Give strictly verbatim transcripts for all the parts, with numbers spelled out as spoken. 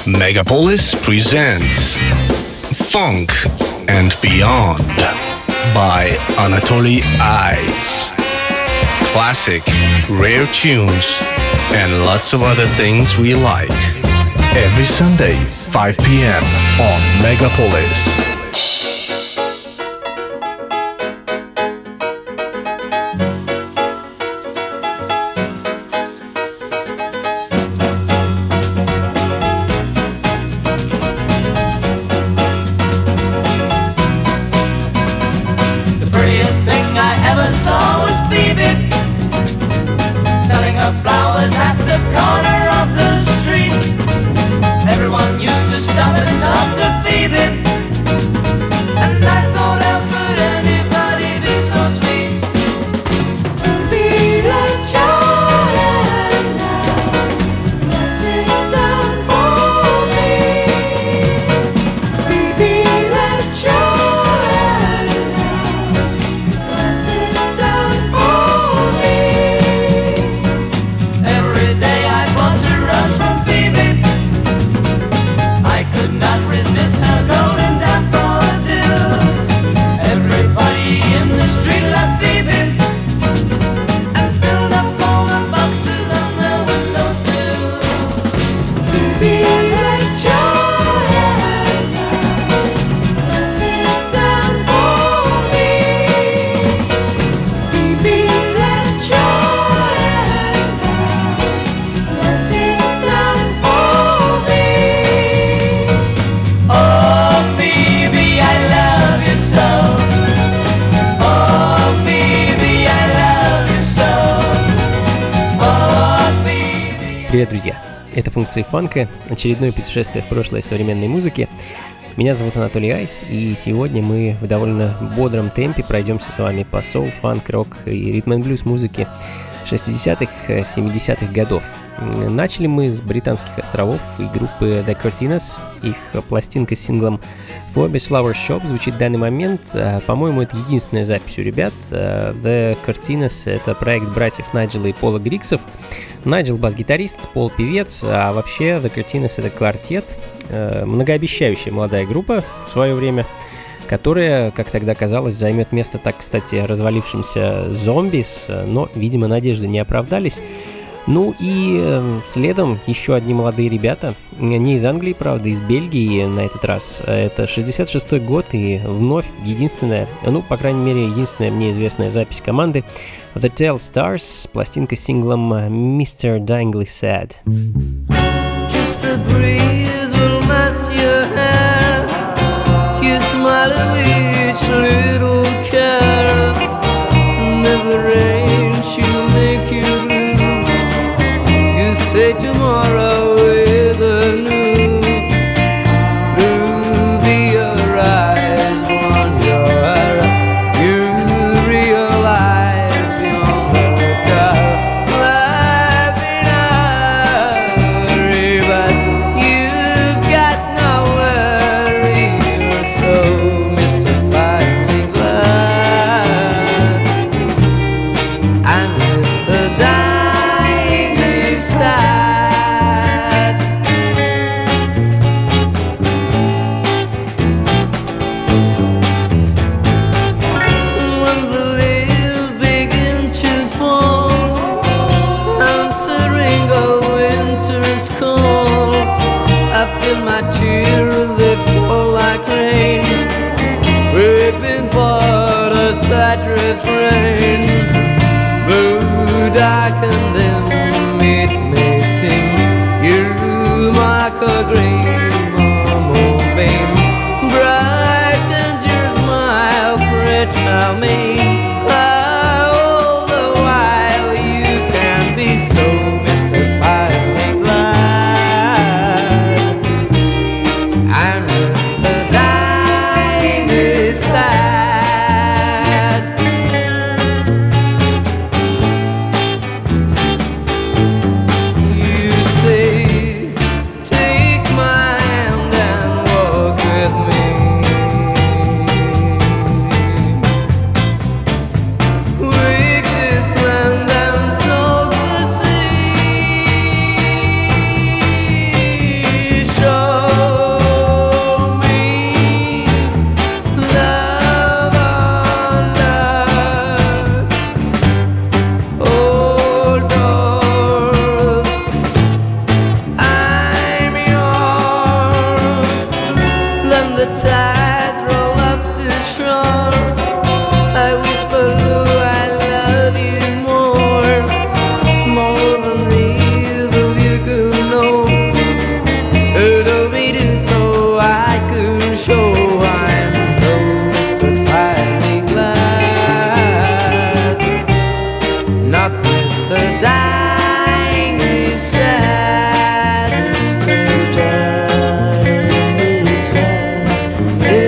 Megapolis presents Funk and Beyond by Anatoly Ice. Classic, rare tunes, and lots of other things we like. Every Sunday, five p.m. on Megapolis. Привет, друзья! Это «Функции фанка», очередное путешествие в прошлое современной музыки. Меня зовут Анатолий Айс, и сегодня мы в довольно бодром темпе пройдемся с вами по соул, фанк, рок и ритм-н-блюз музыке шестидесятых, семидесятых годов. Начали мы с британских островов и группы The Cortinas. Их пластинка с синглом Forbes Flower Shop звучит в данный момент. По-моему, это единственная запись у ребят. The Cortinas — это проект братьев Найджела и Пола Гриксов. Найджел — бас-гитарист, Пол — певец, а вообще The Cortinas — это квартет, многообещающая молодая группа в свое время, которая, как тогда казалось, займет место так, кстати, развалившимся Зомбис, но, видимо, надежды не оправдались. Ну и э, следом еще одни молодые ребята, не из Англии, правда, из Бельгии на этот раз. Это шестьдесят шестой год и вновь единственная, ну, по крайней мере, единственная мне известная запись команды The Tell Stars, пластинка с синглом мистер Dingley Sad. Just the breeze will mess your hair. You smile at each little care. And if the rain she'll make you blue, you say tomorrow with a new blue be your eyes beyond your hair. You realize beyond the car. Life in a hurry, but you've got nowhere either. So mystifyingly glad I'm Mister Dingley Sad. When the leaves begin to fall, answering a winter is cold, I feel my tears, they fall like rain, weeping for the sad refrain. Blue, dark and dim, it may seem you mark a green moonbeam. Brightens your smile, pray tell me how all the while you can be so mystifyingly glad. I'm Mister Dingley Sad. tides roll up the shore, I whisper, Lou, I love you more, more than either of you could know. You told me to so I could show I'm so mystifiedly glad, not Mister Dyingly sad, Mister Dyingly sad.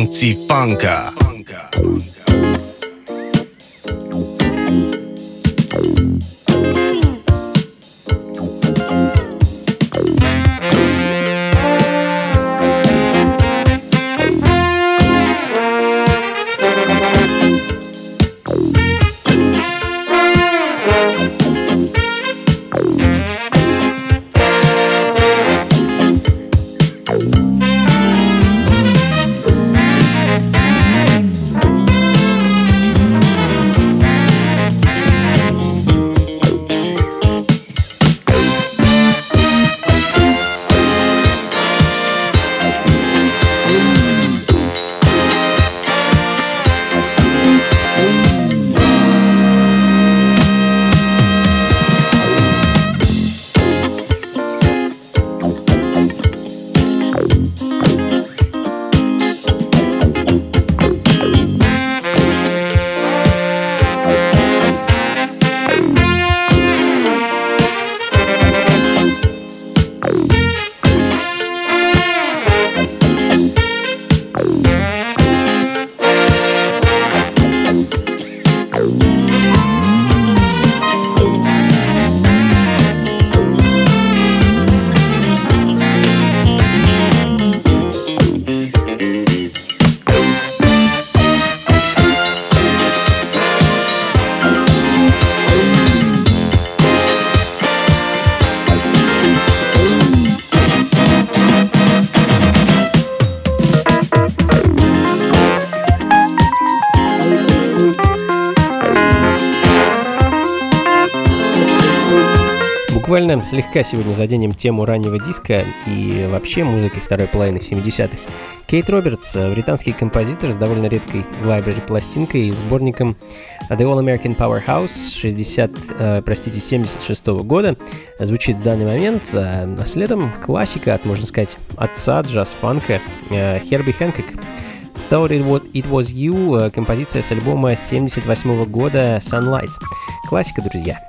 функции фанка. Буквально слегка сегодня заденем тему раннего диска и вообще музыки второй половины семидесятых. Кейт Робертс, британский композитор с довольно редкой в лайбрери пластинкой и сборником The All American Powerhouse шестьдесят, э, простите, семьдесят шестого года, звучит в данный момент, а следом классика от, можно сказать, отца джаз-фанка э, Херби Хэнкок. Thought It Was, It Was You, композиция с альбома семьдесят восьмого года Sunlight. Классика, друзья.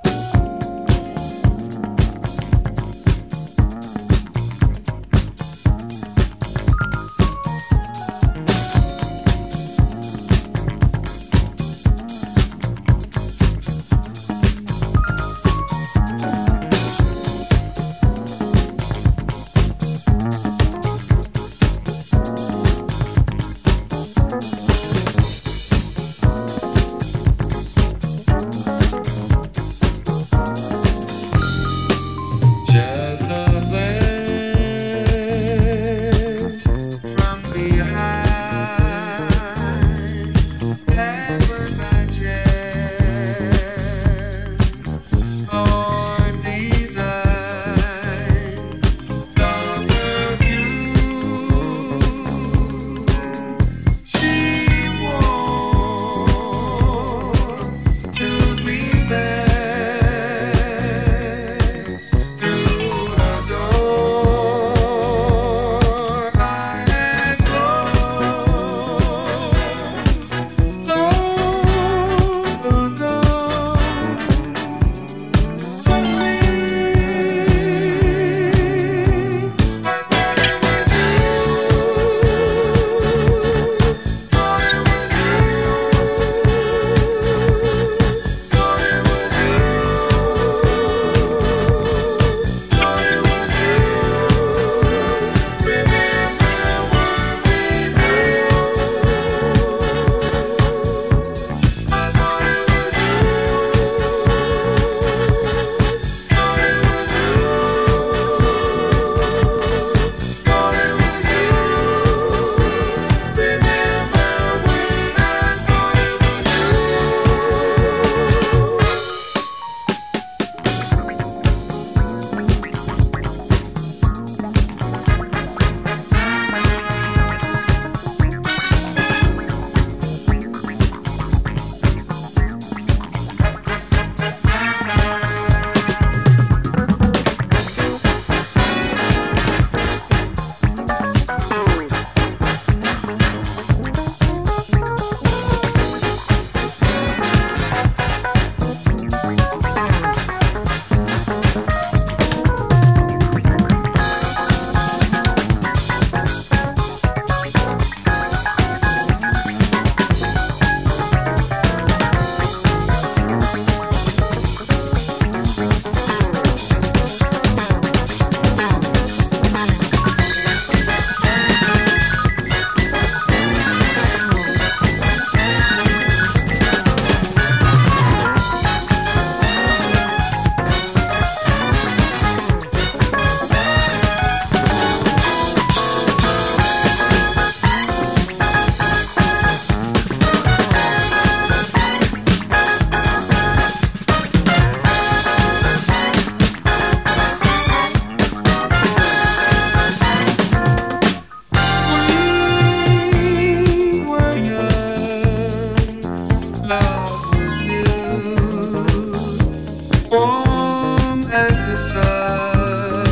as the sun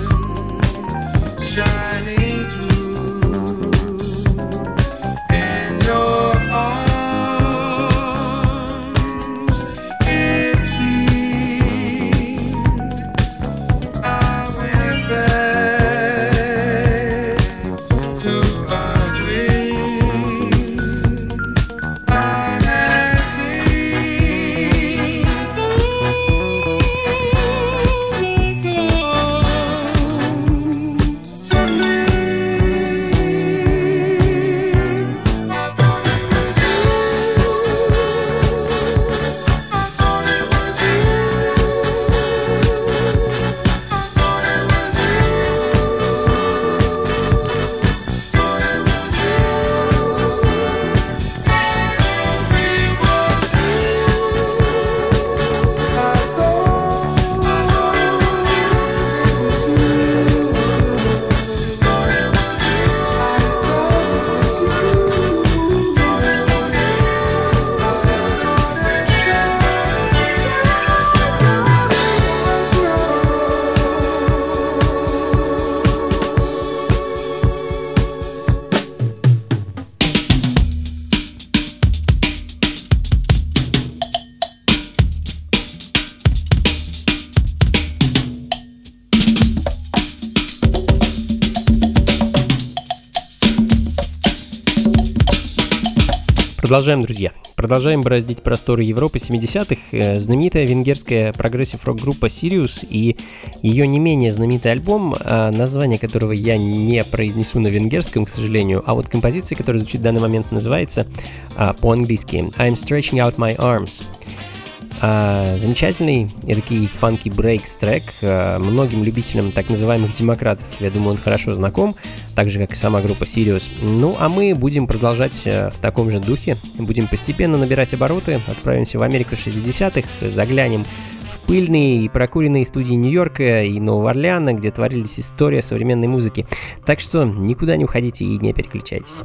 shining through in your arms. It seemed I went back to a dream I had seen. Suddenly, I thought it was you. I thought it was you. I thought it was you. Thought it was you. It was you. I thought it was you. Thought it was you. Продолжаем, друзья. Продолжаем бороздить просторы Европы семидесятых. Э, Знаменитая венгерская прогрессив-рок-группа Sirius и ее не менее знаменитый альбом, э, название которого я не произнесу на венгерском, к сожалению, а вот композиция, которая звучит в данный момент, называется э, по-английски I'm Stretching Out My Arms. А, замечательный эдакий фанки брейкс трек. А, многим любителям так называемых демократов, я думаю, он хорошо знаком, так же, как и сама группа Sirius. Ну, а мы будем продолжать а, в таком же духе. Будем постепенно набирать обороты, отправимся в Америку шестидесятых, заглянем в пыльные и прокуренные студии Нью-Йорка и Нового Орлеана, где творились история современной музыки. Так что никуда не уходите и не переключайтесь.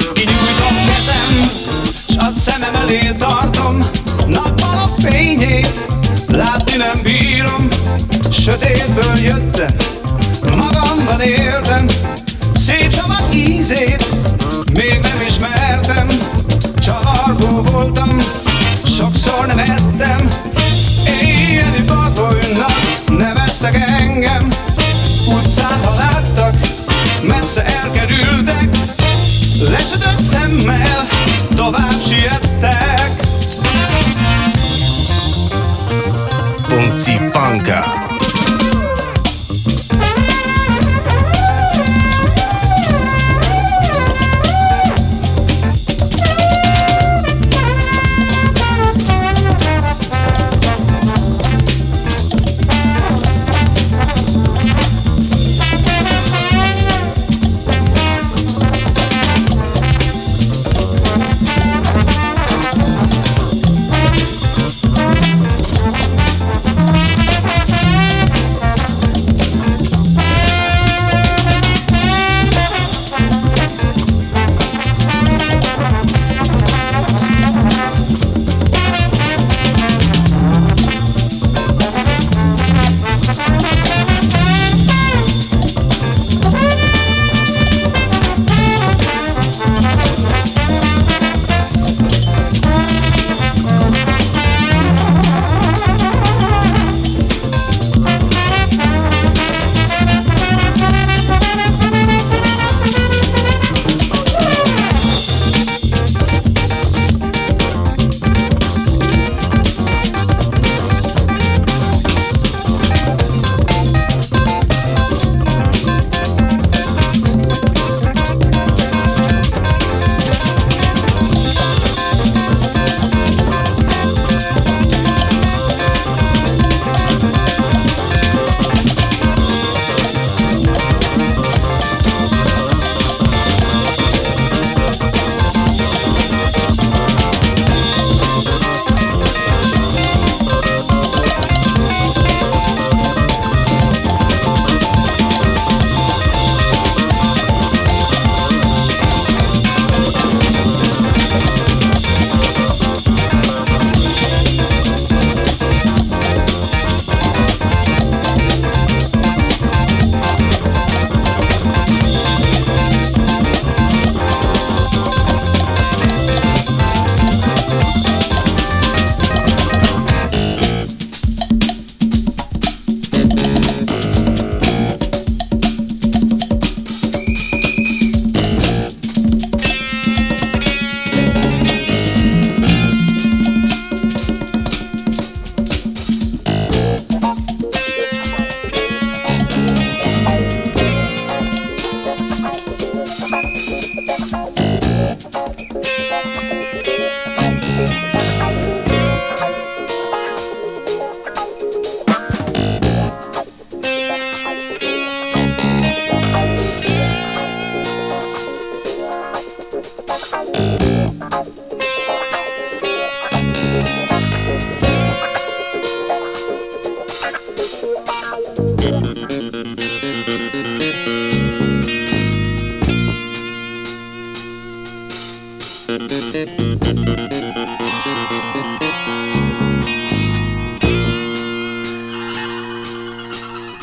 S a szemem elé tartom, nappal a fényét, látni nem bírom, sötétből jöttem, magamban éltem, szép szabad ízét, még nem ismertem, csavargó voltam, sokszor nem ettem, éjjeli bagolynak neveztek engem, utcán ha láttak, messze elkerültek, lesötött szemmel tovább siettek. Funky Funka.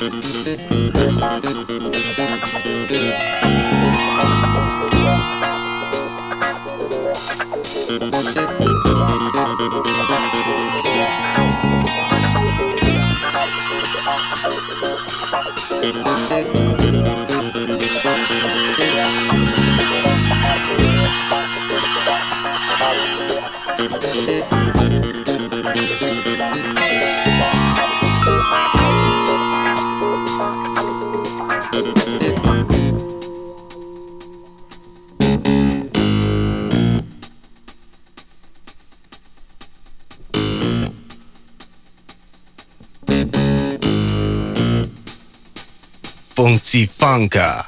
Funky Funka.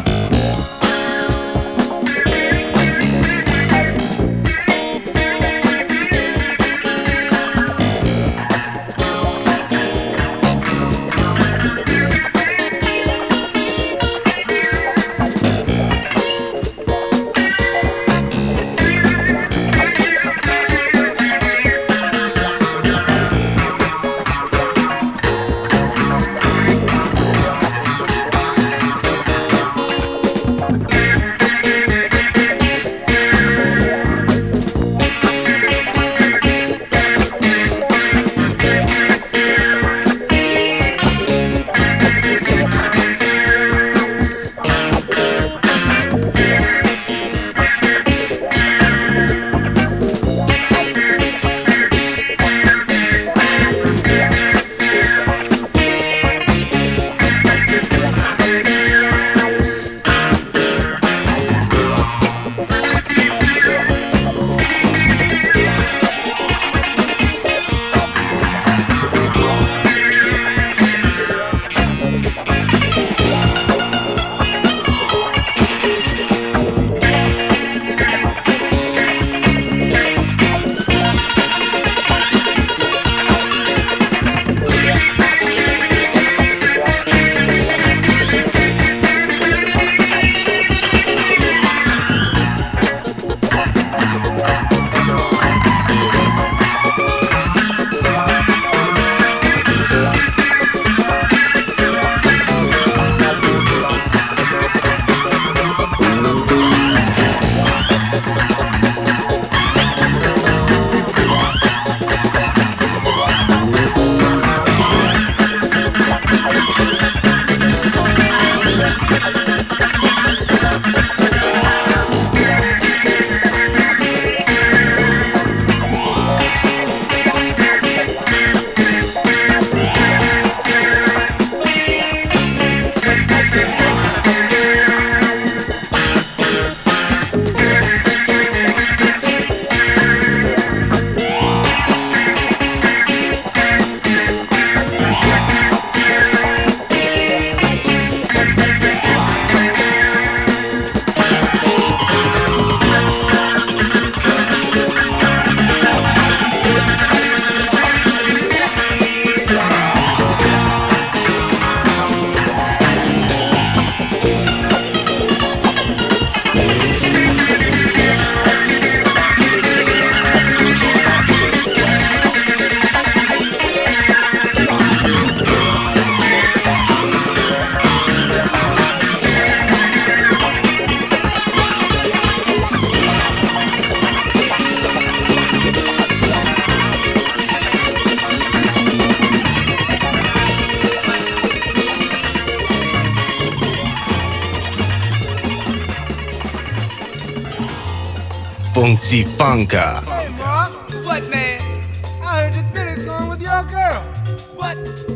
Funky Funka. Hey, Mark. What, man? I heard that Billy's going with your girl. What?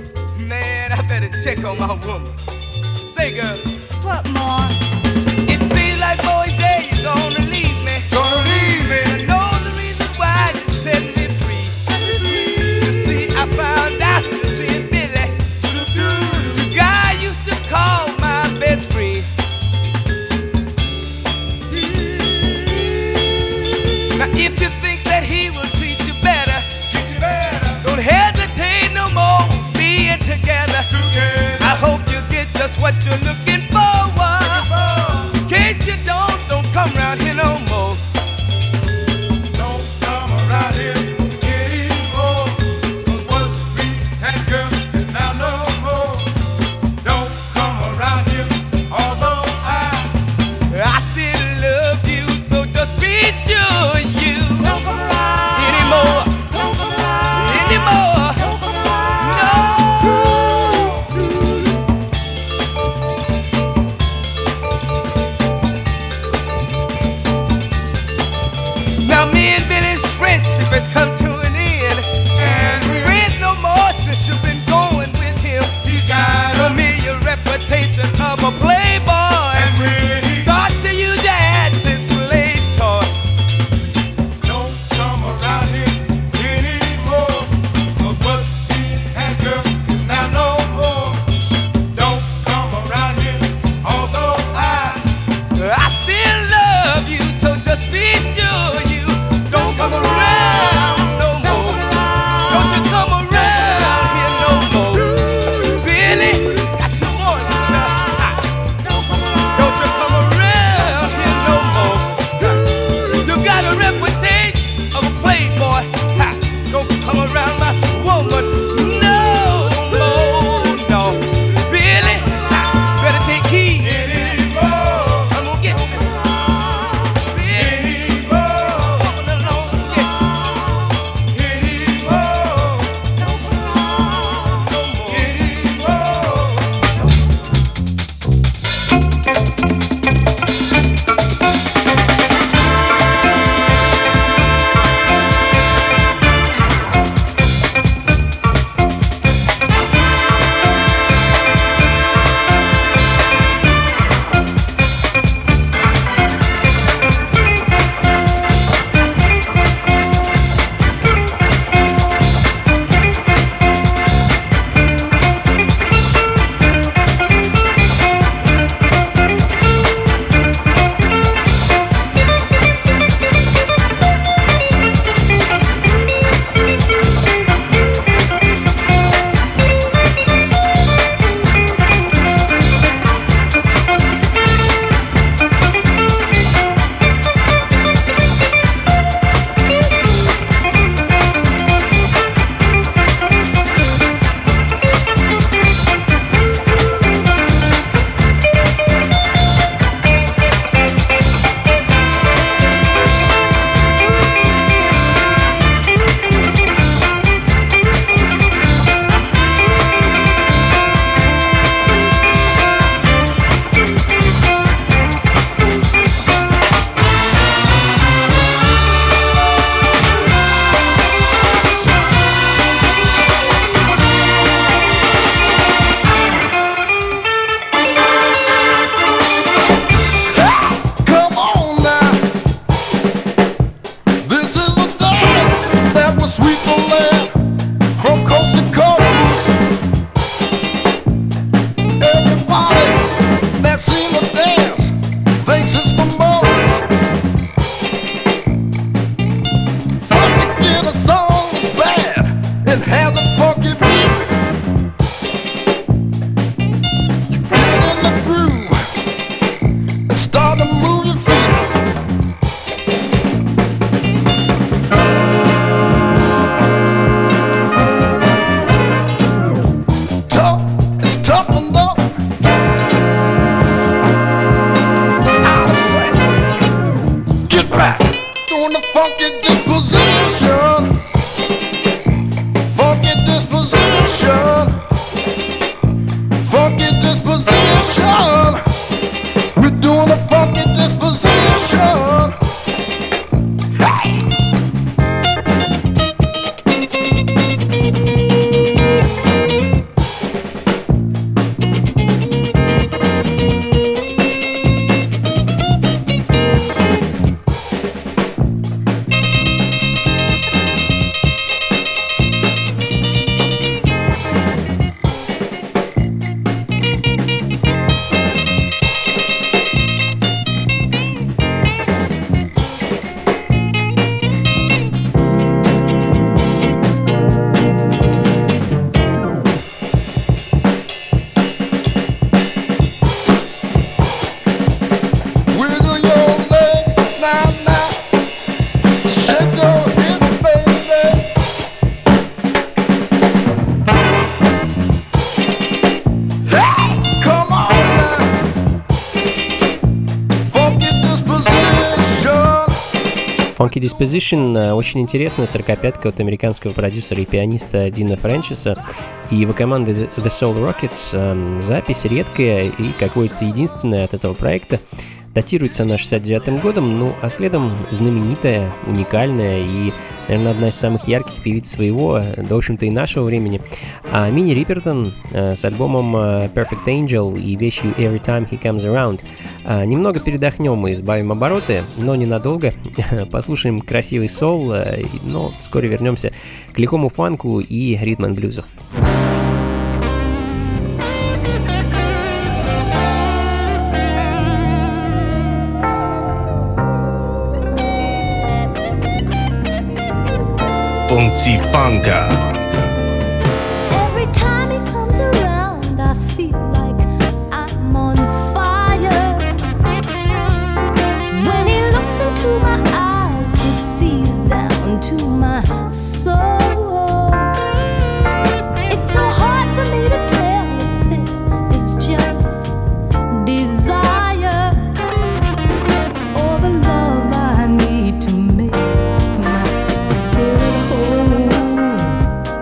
Man, I better check on my woman. Say, girl, What more? it seems like boy day you're gonna leave me. Gonna leave me. I know the reason why you set me free. You see, I found out you see Billy, the guy I used to call my best friend. Now, if you think that he will treat you better, don't hesitate no more being together. I hope you get just what you're looking for. In case you don't, don't come round here no more. Don't come around here anymore. 'Cause what we had, girl, is now no more. toughen up. Out of sight. Get back. Doing the funky disposition. Funky disposition. Funky disposition. We're doing a funky disposition. Hey! Wiggle your legs now, now. Shake your hips, baby. Hey, come on now. Funky disposition. Funky Disposition э, очень интересная сорокопятка от американского продюсера и пианиста Дина Фрэнчиса и его команды The Soul Rockets. Э, запись редкая и, как водится, единственная от этого проекта. Датируется она шестьдесят девятым годом, ну а следом знаменитая, уникальная и, наверное, одна из самых ярких певиц своего, да, в общем-то, и нашего времени. А Минни Рипертон э, с альбомом э, Perfect Angel и вещью Every Time He Comes Around. А, немного передохнем и сбавим обороты, но ненадолго. Послушаем красивый сол, э, но вскоре вернемся к лихому фанку и ритм-н-блюзу. Funky Funka. Every time he comes around, I feel like I'm on fire. When he looks into my eyes, he sees down to my soul. It's so hard for me to tell if this is just desire or the love I need to make my spirit whole.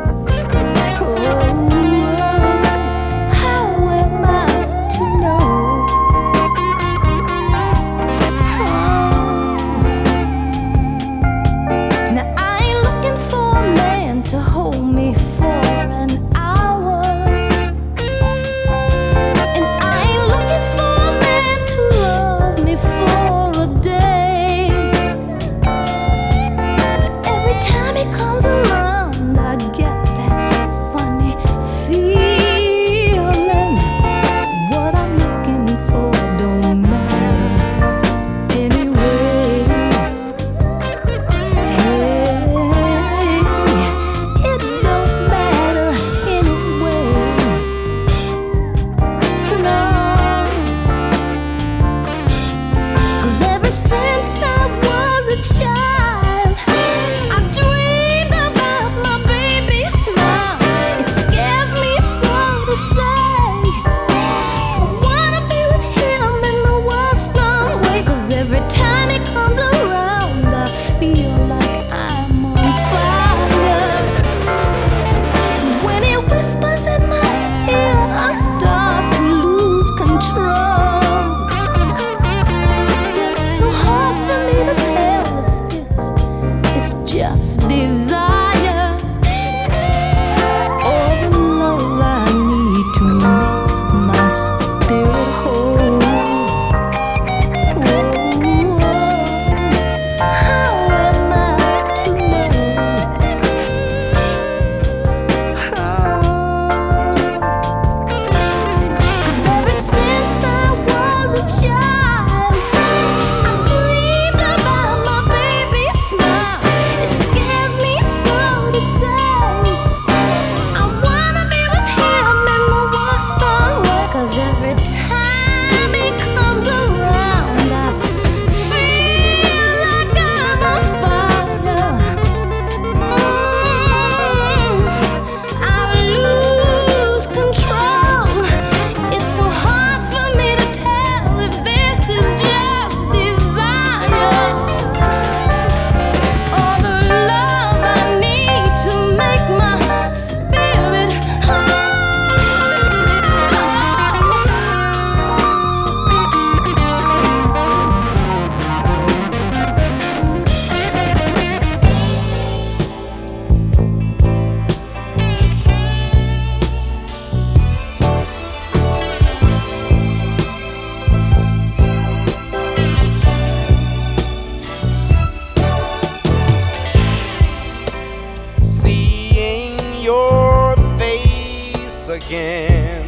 again.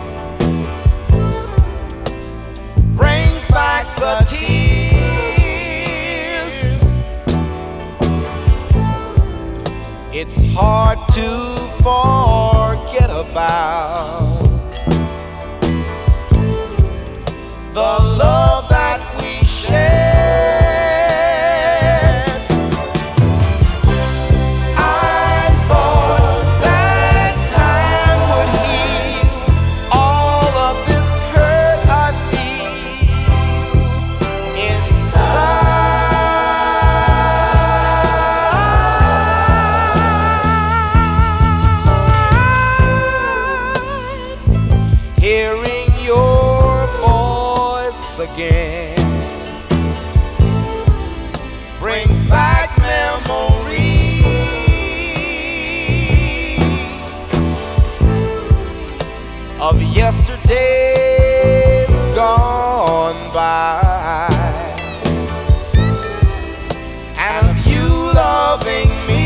Brings back the tears. It's hard to forget about the love that we shared. I thought that time would heal all of this hurt I feel inside. Hearing your voice again brings back memories of yesterdays gone by, and of you loving me.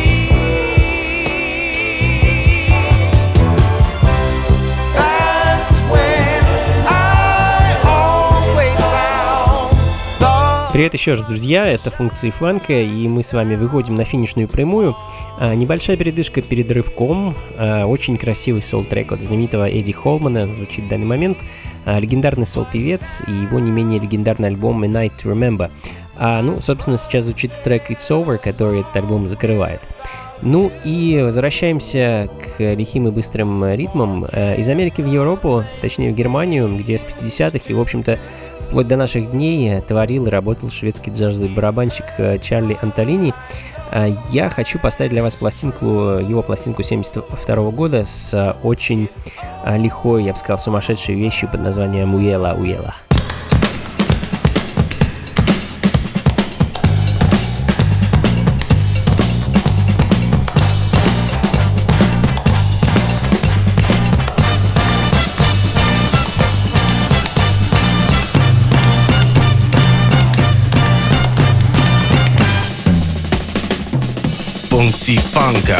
That's when I always found the. Привет еще раз, друзья, это функции фанка, и мы с вами выходим на финишную прямую. А, небольшая передышка перед рывком. А, очень красивый сол-трек от знаменитого Эдди Холмана звучит в данный момент. А, легендарный сол-певец и его не менее легендарный альбом A Night to Remember. А, ну, собственно, сейчас звучит трек It's Over, который этот альбом закрывает. Ну и возвращаемся к лихим и быстрым ритмам. А, из Америки в Европу, точнее в Германию, где с пятидесятых и, в общем-то, вплоть до наших дней творил и работал шведский джазовый барабанщик Чарли Антолини. Я хочу поставить для вас пластинку, его пластинку семьдесят второго года с очень лихой, я бы сказал, сумасшедшей вещью под названием «Уела, уела». Funky Funka.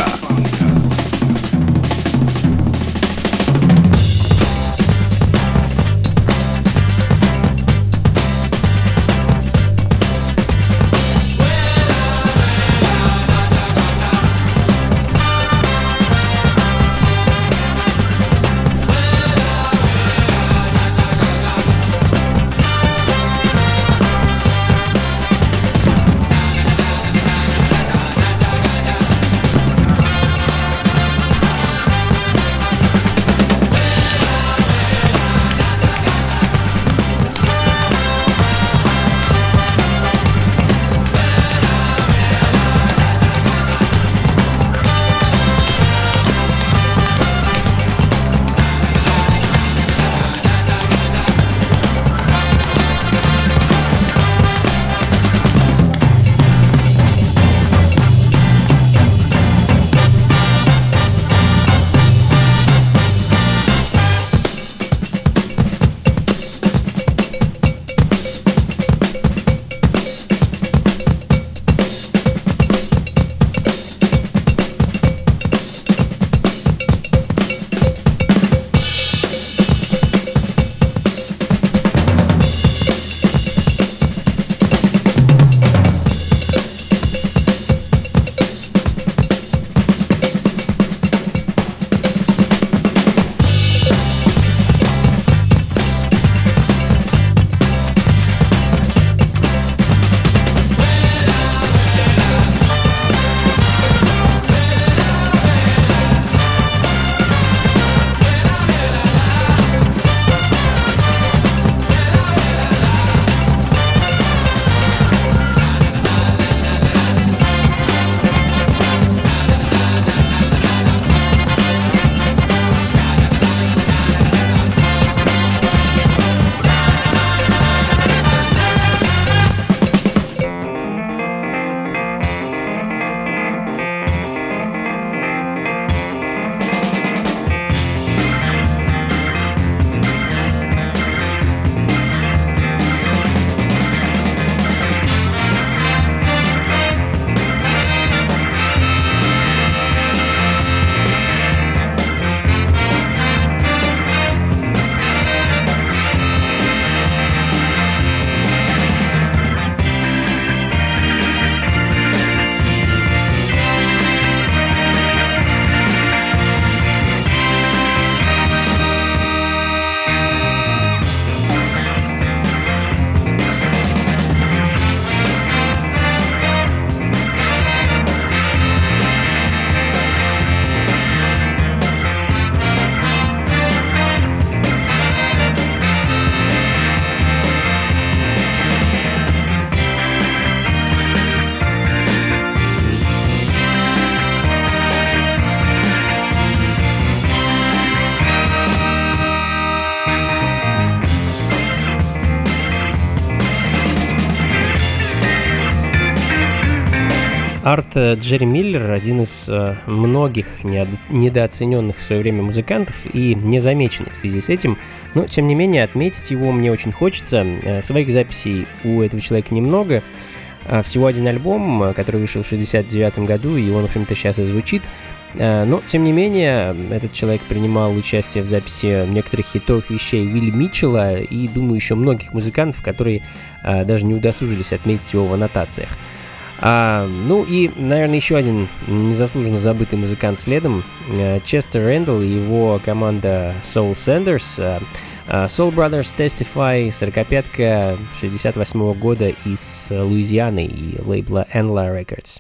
Арт Джерри Миллер — один из э, многих неод- недооцененных в свое время музыкантов и незамеченных в связи с этим, но тем не менее отметить его мне очень хочется. Э, своих записей у этого человека немного, э, всего один альбом, который вышел в шестьдесят девятом году, и он, в общем-то, сейчас и звучит. Э, но, тем не менее, этот человек принимал участие в записи некоторых хитовых вещей Уилли Митчелла и, думаю, еще многих музыкантов, которые э, даже не удосужились отметить его в аннотациях. А, ну и, наверное, еще один незаслуженно забытый музыкант следом, Честер Рэндалл и его команда Soul Sanders. Soul Brothers Testify, сорокопятка шестьдесят восьмого года из Луизианы и лейбла Enla Records.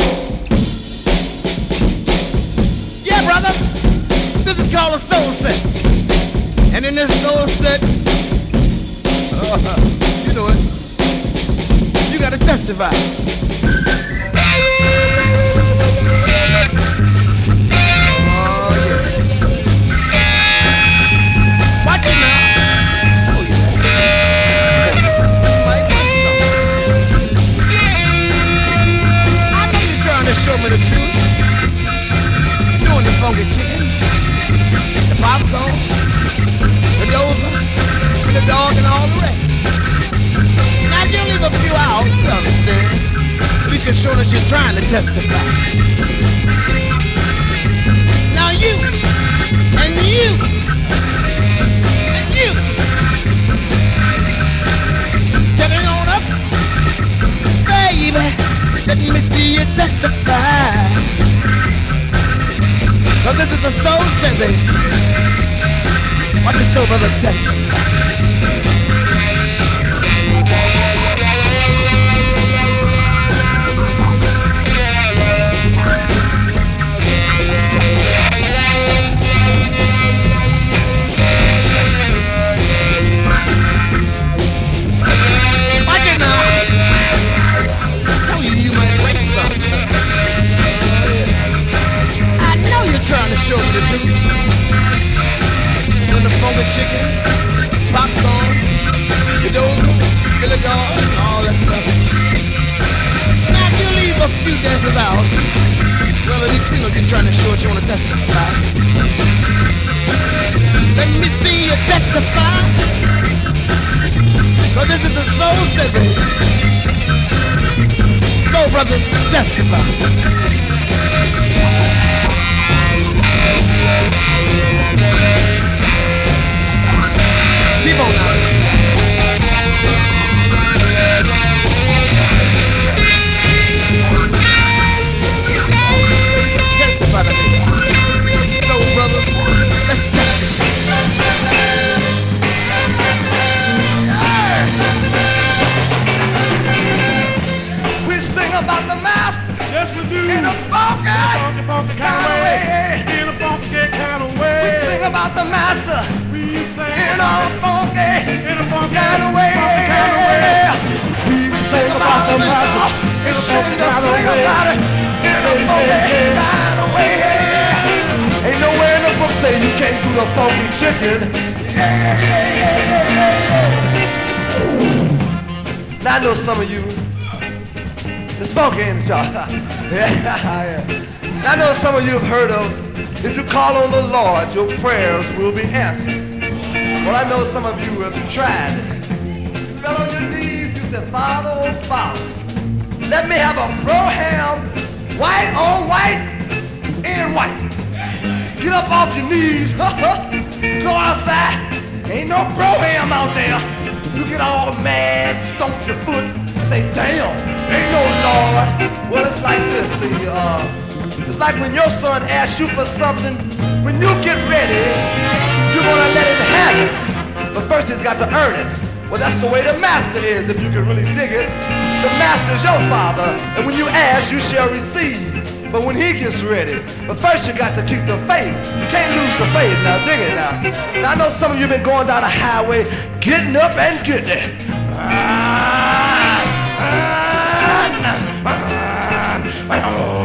Yeah, brother, this is called a soul set. And in this soul set, uh, you know it, you gotta testify. Show me the truth. Doing the funky chicken, the popcorn, the dozer, the dog, and all the rest. Now you leave a few out, you understand? At least you're showing that you're trying to testify. Now you, and you, and you, get it on up, baby. Let me see you testify. Now this is the soul set, baby. Watch the soul brother testify. Trying to show you the truth. Doing the funky chicken, popcorn, the dozer, the dog, and all that stuff. Now if you leave a few dances out, well at least you know you're trying to show what you want to testify. Let me see you testify. But this is a soul set, baby. Soul brothers testify. Keep on now. Testify to me. So brothers, let's testify. We sing about the master. Yes, we do. In a funky, funky, funky kind of way. In a funky kind of way. We sing about the master. We sing In a funky, in a funky kind of way. kind of way. We sing about the master. In a funky kind of way. In a funky kind of way. Ain't nowhere in the book say you can't do the funky chicken. Now I know some of you, it's funky in the y'all. Yeah. I know some of you have heard of, if you call on the Lord, your prayers will be answered. Well, I know some of you have tried it. You fell on your knees, you said, Father, oh Father, let me have a bro-ham, white on white, and white. Get up off your knees, go outside, ain't no bro-ham out there. You get all mad, stomp your foot, say, damn, ain't no Lord. Well, it's like this, see, uh, it's like when your son asks you for something, when you get ready, you're gonna let him have it. But first he's got to earn it. Well, that's the way the master is, if you can really dig it. The master is your father, and when you ask, you shall receive. But when he gets ready, but first you got to keep the faith. You can't lose the faith, now dig it now. Now I know some of you been going down the highway, getting up and getting it. I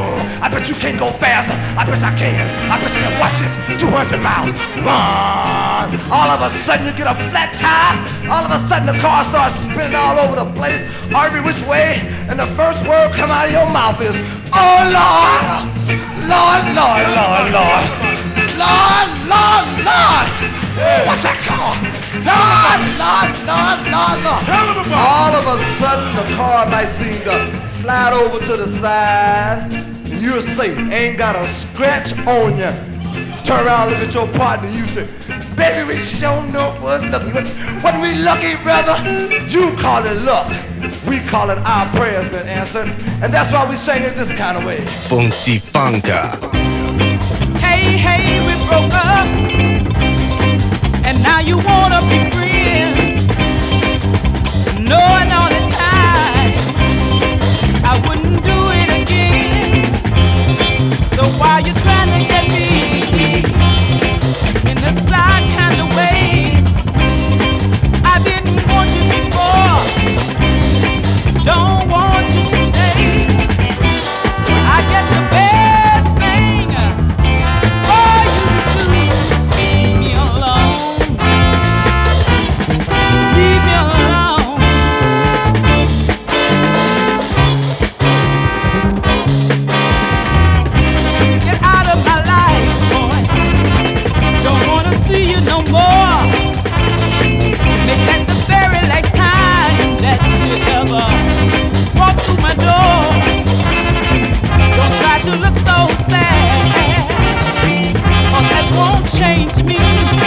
I bet you can't go faster. I bet I can. I bet you can watch this. two hundred miles. Run. All of a sudden you get a flat tire. All of a sudden the car starts spinning all over the place, every which way, and the first word come out of your mouth is, oh Lord, Lord, Lord, Lord, Lord, Lord, Lord, Lord. What's that called? Lord, Lord, Lord, Lord, Lord. All of a sudden the car might seem to slide over to the side, and you're safe. Ain't got a scratch on you. Turn around, look at your partner, you say, baby, we sure know what's lucky. When we lucky, brother, you call it luck. We call it our prayers been answered. And that's why we sing it this kind of way. Funky Funka. Hey, hey, we broke up, and now you wanna be friends, knowing all the time I wouldn't do it again. So why you trying to get me in a sly kind of way? I didn't want you before, don't want you today. So I guess the best thing for you to do is leave me alone. Leave me alone. Get out of my life, boy. Don't wanna see you no more. Make that the very last time that you ever walk through my door. Don't try to look so sad, 'cause that won't change me.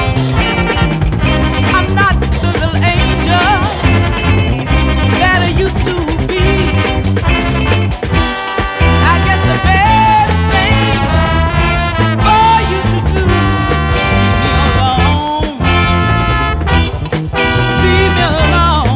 I'm not the little angel that I used to be. I guess the best thing for you to do, leave me alone. Leave me alone.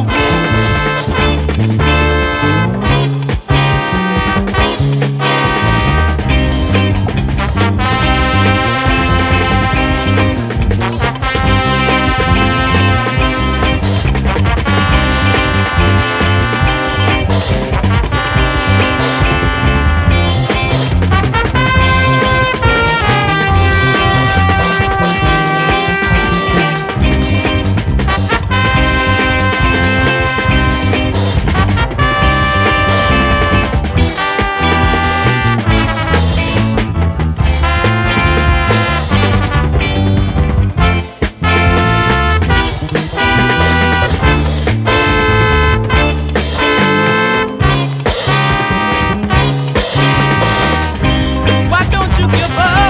Why don't you give up?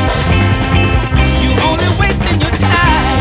You only wasting your time.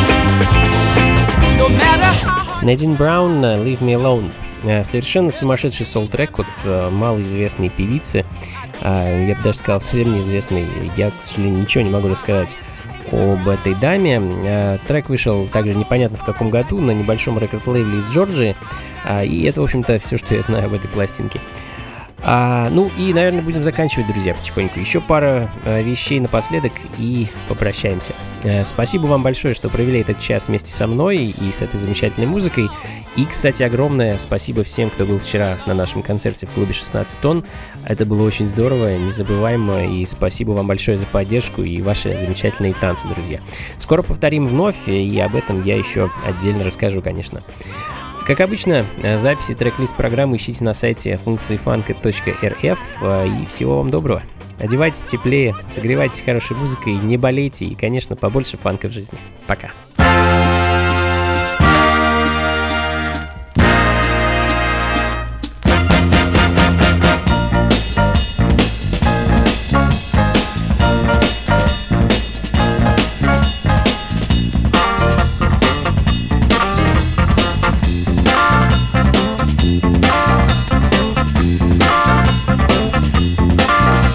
No matter how hard. Надин Браун, Leave Me Alone. Э, Совершенно сумасшедший соул-трек от э, малоизвестной певицы. А, Я бы даже сказал, совсем неизвестной. Я, к сожалению, ничего не могу рассказать об этой даме. Э, Трек вышел также непонятно в каком году на небольшом рекорд-лейбле из Джорджии. А, И это, в общем-то, все, что я знаю об этой пластинке. А, ну и, наверное, будем заканчивать, друзья, потихоньку. Еще пара э, вещей напоследок и попрощаемся. Э, спасибо вам большое, что провели этот час вместе со мной и с этой замечательной музыкой. И, кстати, огромное спасибо всем, кто был вчера на нашем концерте в клубе шестнадцать тонн. Это было очень здорово, незабываемо. И спасибо вам большое за поддержку и ваши замечательные танцы, друзья. Скоро повторим вновь, и об этом я еще отдельно расскажу, конечно. Как обычно, записи трек-лист программы ищите на сайте функции фанка точка эр эф. И всего вам доброго. Одевайтесь теплее, согревайтесь хорошей музыкой, не болейте и, конечно, побольше фанка в жизни. Пока.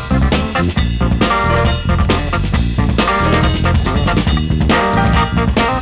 Thank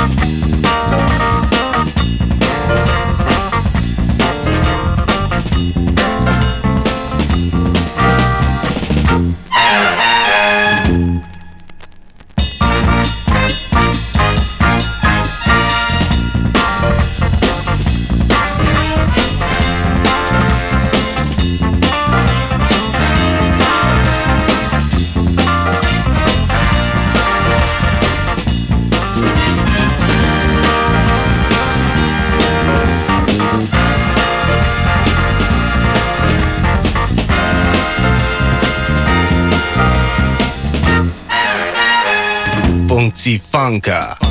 Funky Funka.